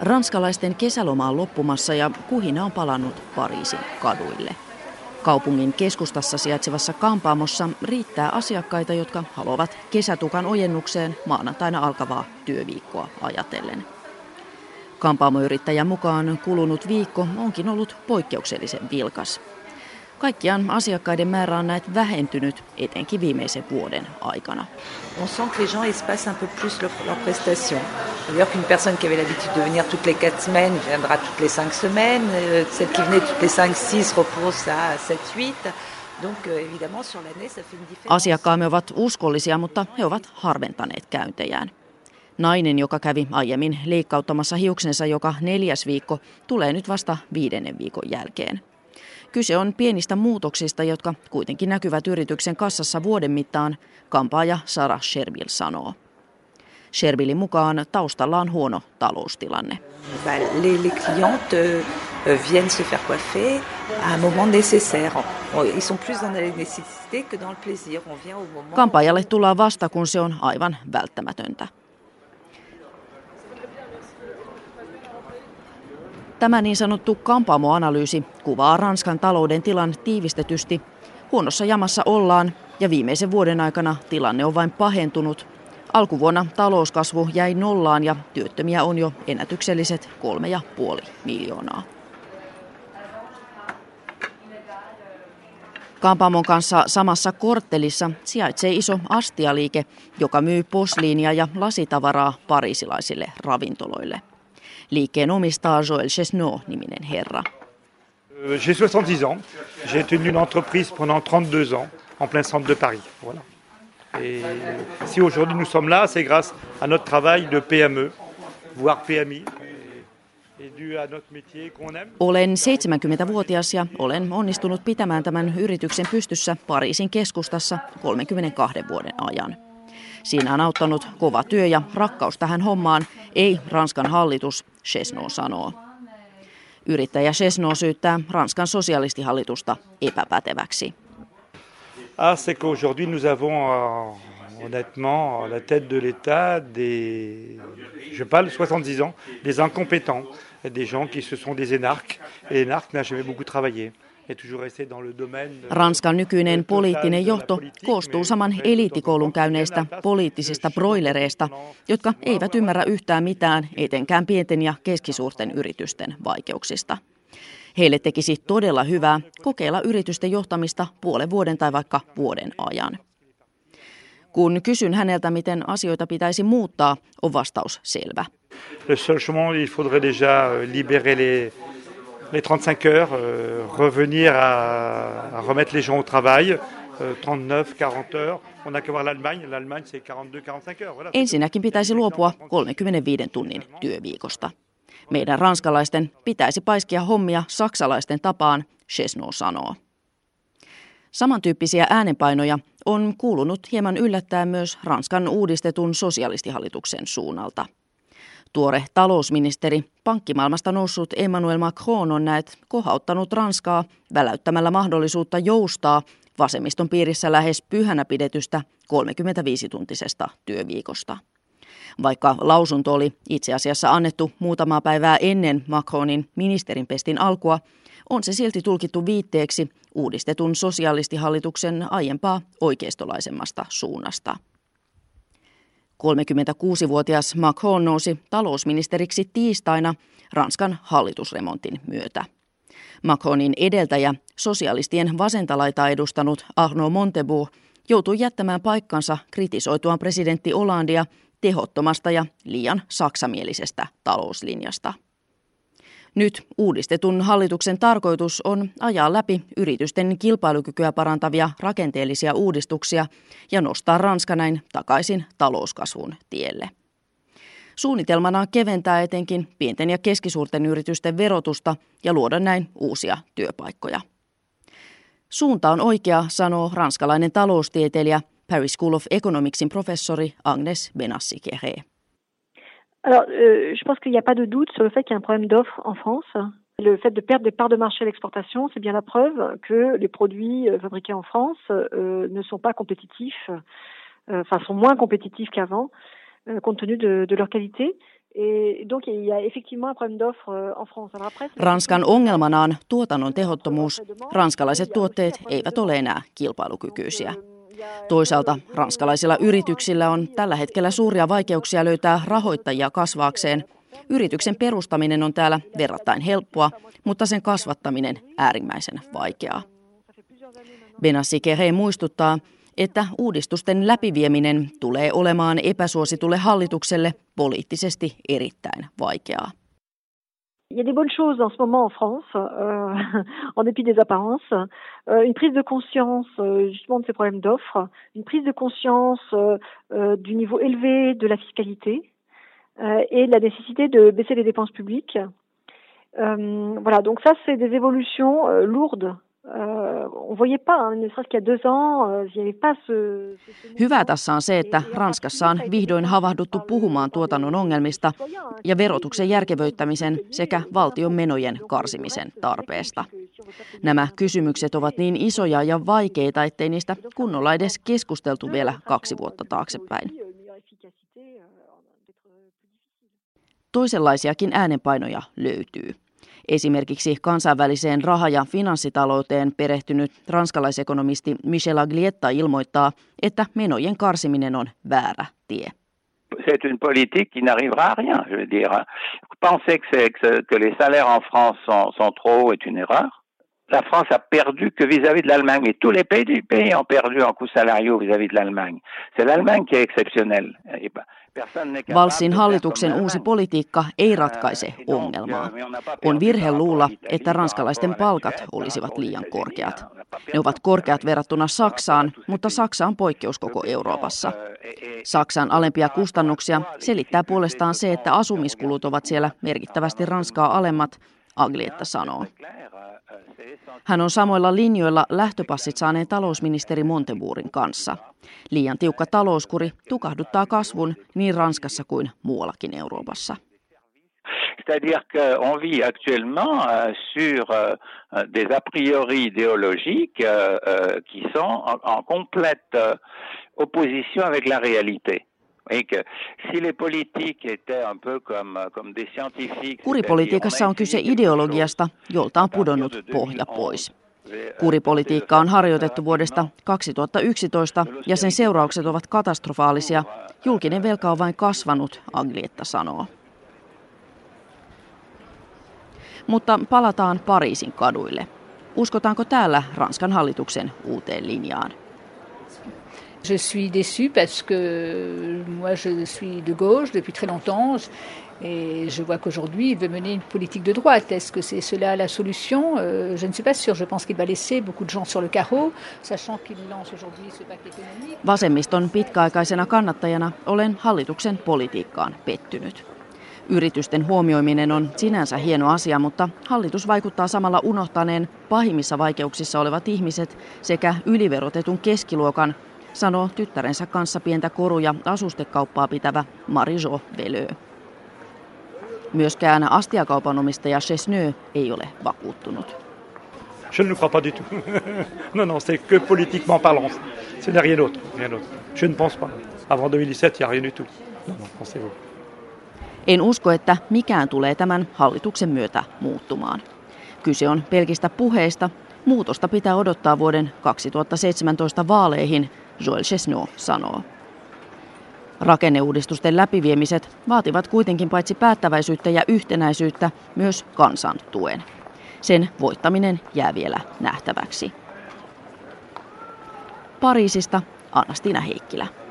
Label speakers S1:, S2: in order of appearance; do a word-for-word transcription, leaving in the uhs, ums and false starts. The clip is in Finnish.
S1: Ranskalaisten kesäloma on loppumassa ja kuhina on palannut Pariisin kaduille. Kaupungin keskustassa sijaitsevassa kampaamossa riittää asiakkaita, jotka haluavat kesätukan ojennukseen maanantaina alkavaa työviikkoa ajatellen. Kampaamoyrittäjän mukaan kulunut viikko onkin ollut poikkeuksellisen vilkas. Kaikkiaan asiakkaiden määrä on näet vähentynyt, etenkin viimeisen vuoden aikana.
S2: On sent que les gens espacent un peu plus leurs prestations. C'est-à-dire qu'une personne qui avait l'habitude de venir toutes les quatre semaines viendra toutes les cinq semaines. Celle qui venait toutes les cinq, six repose à sept, huit. Donc évidemment sur l'année ça fait une différence.
S1: Asiakkaamme ovat uskollisia, mutta he ovat harventaneet käyntejään. Nainen, joka kävi aiemmin leikkauttamassa hiuksensa joka neljäs viikko, tulee nyt vasta viidennen viikon jälkeen. Kyse on pienistä muutoksista, jotka kuitenkin näkyvät yrityksen kassassa vuoden mittaan, kampaaja Sarah Sherville sanoo. Shervillin mukaan taustalla on huono taloustilanne.
S2: Les clientes viennent se faire coiffer à un moment nécessaire. Ils sont plus dans la nécessité que dans le plaisir. On vient au moment.
S1: Kampaajalle tullaan vasta, kun se on aivan välttämätöntä. Tämä niin sanottu kampaamoanalyysi kuvaa Ranskan talouden tilan tiivistetysti. Huonossa jamassa ollaan ja viimeisen vuoden aikana tilanne on vain pahentunut. Alkuvuonna talouskasvu jäi nollaan ja työttömiä on jo ennätykselliset kolme ja puoli miljoonaa. Kampaamon kanssa samassa korttelissa sijaitsee iso astialiike, joka myy posliinia ja lasitavaraa pariisilaisille ravintoloille. Liikkeen omistaa Joël Chesneau-niminen herra.
S3: J'ai soixante-dix ans. J'ai tenu une entreprise pendant trente-deux ans en plein centre de Paris. Voilà. Et si aujourd'hui nous sommes là, c'est grâce à notre travail de P M E, voire P M I. Et dû à notre métier qu'on aime.
S1: Olen seitsemänkymmentävuotias ja olen onnistunut pitämään tämän yrityksen pystyssä Pariisin keskustassa kolmenkymmenenkahden vuoden ajan. Siinä on auttanut kova työ ja rakkaus tähän hommaan, ei Ranskan hallitus, Chesneau sanoo. Yrittäjä Chesneau syyttää Ranskan sosialistihallitusta epäpäteväksi.
S3: Ah, c'est qu'aujourd'hui nous avons honnêtement à la tête de l'État des, je parle soixante-dix ans, des incompétents, des gens qui se sont des énarques. Et l'énarque n'a jamais beaucoup travaillé.
S1: Ranskan nykyinen poliittinen johto koostuu saman eliittikoulun käyneistä poliittisista broilereista, jotka eivät ymmärrä yhtään mitään, etenkään pienten ja keskisuurten yritysten vaikeuksista. Heille tekisi todella hyvää kokeilla yritysten johtamista puolen vuoden tai vaikka vuoden ajan. Kun kysyn häneltä, miten asioita pitäisi muuttaa, on vastaus selvä.
S3: Le seul chemin, il faudrait déjà libérer les les trente-cinq heures, euh, revenir à, à remettre les gens au travail, euh, trente-neuf, quarante heures. On n'a qu'à voir l'Allemagne, l'Allemagne c'est quarante-deux, quarante-cinq heures. Voilà.
S1: Ensinnäkin pitäisi luopua kolmekymmentäviisi tunnin työviikosta. Meidän ranskalaisten pitäisi paiskia hommia saksalaisten tapaan, Chesneau sanoo. Samantyyppisiä äänenpainoja on kuulunut hieman yllättäen myös Ranskan uudistetun sosialistihallituksen suunnalta. Tuore talousministeri, pankkimaailmasta noussut Emmanuel Macron on näet kohauttanut Ranskaa väläyttämällä mahdollisuutta joustaa vasemmiston piirissä lähes pyhänä pidetystä kolmekymmentäviisituntisesta työviikosta. Vaikka lausunto oli itse asiassa annettu muutamaa päivää ennen Macronin ministerinpestin alkua, on se silti tulkittu viitteeksi uudistetun sosialistihallituksen aiempaa oikeistolaisemmasta suunnasta. kolmekymmentäkuusivuotias Macron nousi talousministeriksi tiistaina Ranskan hallitusremontin myötä. Macronin edeltäjä, sosialistien vasentalaitaa edustanut Arnaud Montebourg, joutui jättämään paikkansa kritisoituaan presidentti Hollandea tehottomasta ja liian saksamielisestä talouslinjasta. Nyt uudistetun hallituksen tarkoitus on ajaa läpi yritysten kilpailukykyä parantavia rakenteellisia uudistuksia ja nostaa Ranska näin takaisin talouskasvun tielle. Suunnitelmana on keventää etenkin pienten ja keskisuurten yritysten verotusta ja luoda näin uusia työpaikkoja. Suunta on oikea, sanoo ranskalainen taloustieteilijä Paris School of Economicsin professori Agnès Benassi-Kéré.
S4: Alors, euh, je pense qu'il n'y a pas de doute sur le fait qu'il y a un problème d'offre en France. Le fait de perdre des parts de marché à l'exportation, c'est bien la preuve que les produits fabriqués en France euh, ne sont pas compétitifs, euh, enfin sont moins compétitifs qu'avant, euh, compte tenu de, de leur qualité.
S1: Ranskan ongelmana on tuotannon tehottomuus. Ranskalaiset tuotteet eivät ole enää kilpailukykyisiä. Toisaalta ranskalaisilla yrityksillä on tällä hetkellä suuria vaikeuksia löytää rahoittajia kasvaakseen. Yrityksen perustaminen on täällä verrattain helppoa, mutta sen kasvattaminen äärimmäisen vaikeaa. Benassi Kere muistuttaa, että uudistusten läpivieminen tulee olemaan epäsuositulle hallitukselle poliittisesti erittäin vaikeaa.
S4: Il y a des bonnes choses en ce moment en France, euh, en dépit des apparences. Euh, une prise de conscience euh, justement de ces problèmes d'offres, une prise de conscience euh, du niveau élevé de la fiscalité euh, et de la nécessité de baisser les dépenses publiques. Euh, voilà, donc ça c'est des évolutions euh, lourdes.
S1: Hyvä tässä on se, että Ranskassa on vihdoin havahduttu puhumaan tuotannon ongelmista ja verotuksen järkevöittämisen sekä valtion menojen karsimisen tarpeesta. Nämä kysymykset ovat niin isoja ja vaikeita, ettei niistä kunnolla edes keskusteltu vielä kaksi vuotta taaksepäin. Toisenlaisiakin äänenpainoja löytyy. Esimerkiksi kansainväliseen raha- ja finanssitalouteen perehtynyt ranskalaisekonomisti Michel Aglietta ilmoittaa, että menojen karsiminen on väärä tie.
S5: C'est une politique qui n'arrivera à rien, je veux dire. Penser que, que les salaires en France sont, sont trop hauts est une erreur. La France a perdu que vis-à-vis de l'Allemagne, et tous les pays du pays ont perdu en coûts salariaux vis-à-vis de l'Allemagne. C'est l'Allemagne qui est exceptionnelle.
S1: Valssin hallituksen uusi politiikka ei ratkaise ongelmaa. On virhe luulla, että ranskalaisten palkat olisivat liian korkeat. Ne ovat korkeat verrattuna Saksaan, mutta Saksa on poikkeus koko Euroopassa. Saksan alempia kustannuksia selittää puolestaan se, että asumiskulut ovat siellä merkittävästi Ranskaa alemmat, Aglietta sanoo. Hän on samoilla linjoilla lähtöpassit saaneen talousministeri Montebourgin kanssa. Liian tiukka talouskuri tukahduttaa kasvun niin Ranskassa kuin muuallakin Euroopassa.
S5: C'est-à-dire qu'on vit actuellement sur des a priori idéologiques qui sont en complète opposition avec la réalité.
S1: Kuripolitiikassa on kyse ideologiasta, jolta on pudonnut pohja pois. Kuripolitiikka on harjoitettu vuodesta kaksituhattayksitoista ja sen seuraukset ovat katastrofaalisia. Julkinen velka on vain kasvanut, Aglietta sanoo. Mutta palataan Pariisin kaduille. Uskotaanko täällä Ranskan hallituksen uuteen linjaan?
S6: Je suis déçue parce que moi je suis de gauche depuis très longtemps et je vois qu'aujourd'hui il veut mener une politique de droite. Est-ce que c'est cela la solution? Je ne suis pas sûre. Je pense qu'il va laisser beaucoup de gens sur le carreau, sachant qu'il lance aujourd'hui ce pacte économique.
S1: Vasemmiston pitkäaikaisena kannattajana olen hallituksen politiikkaan pettynyt. Yritysten huomioiminen on sinänsä hieno asia, mutta hallitus vaikuttaa samalla unohtaneen pahimmissa vaikeuksissa olevat ihmiset sekä yliverotetun keskiluokan, sanoo tyttärensä kanssa pientä koru- ja asustekauppaa pitävä Marie-Jo Veleux. Myöskään astiakaupan omistaja Chesneux ei ole vakuuttunut.
S3: Je ne crois pas du tout. non, non, c'est que politiquement parlant. Ce n'est rien d'autre, rien d'autre. Je ne pense pas. Avant deux mille dix-sept, il n'y a rien du tout. Non, non, pensez-vous.
S1: En usko, että mikään tulee tämän hallituksen myötä muuttumaan. Kyse on pelkistä puheista. Muutosta pitää odottaa vuoden kaksituhattaseitsemäntoista vaaleihin, Joël Chesneux sanoo. Rakenneuudistusten läpiviemiset vaativat kuitenkin paitsi päättäväisyyttä ja yhtenäisyyttä myös kansan tuen. Sen voittaminen jää vielä nähtäväksi. Pariisista Anna-Stina Heikkilä.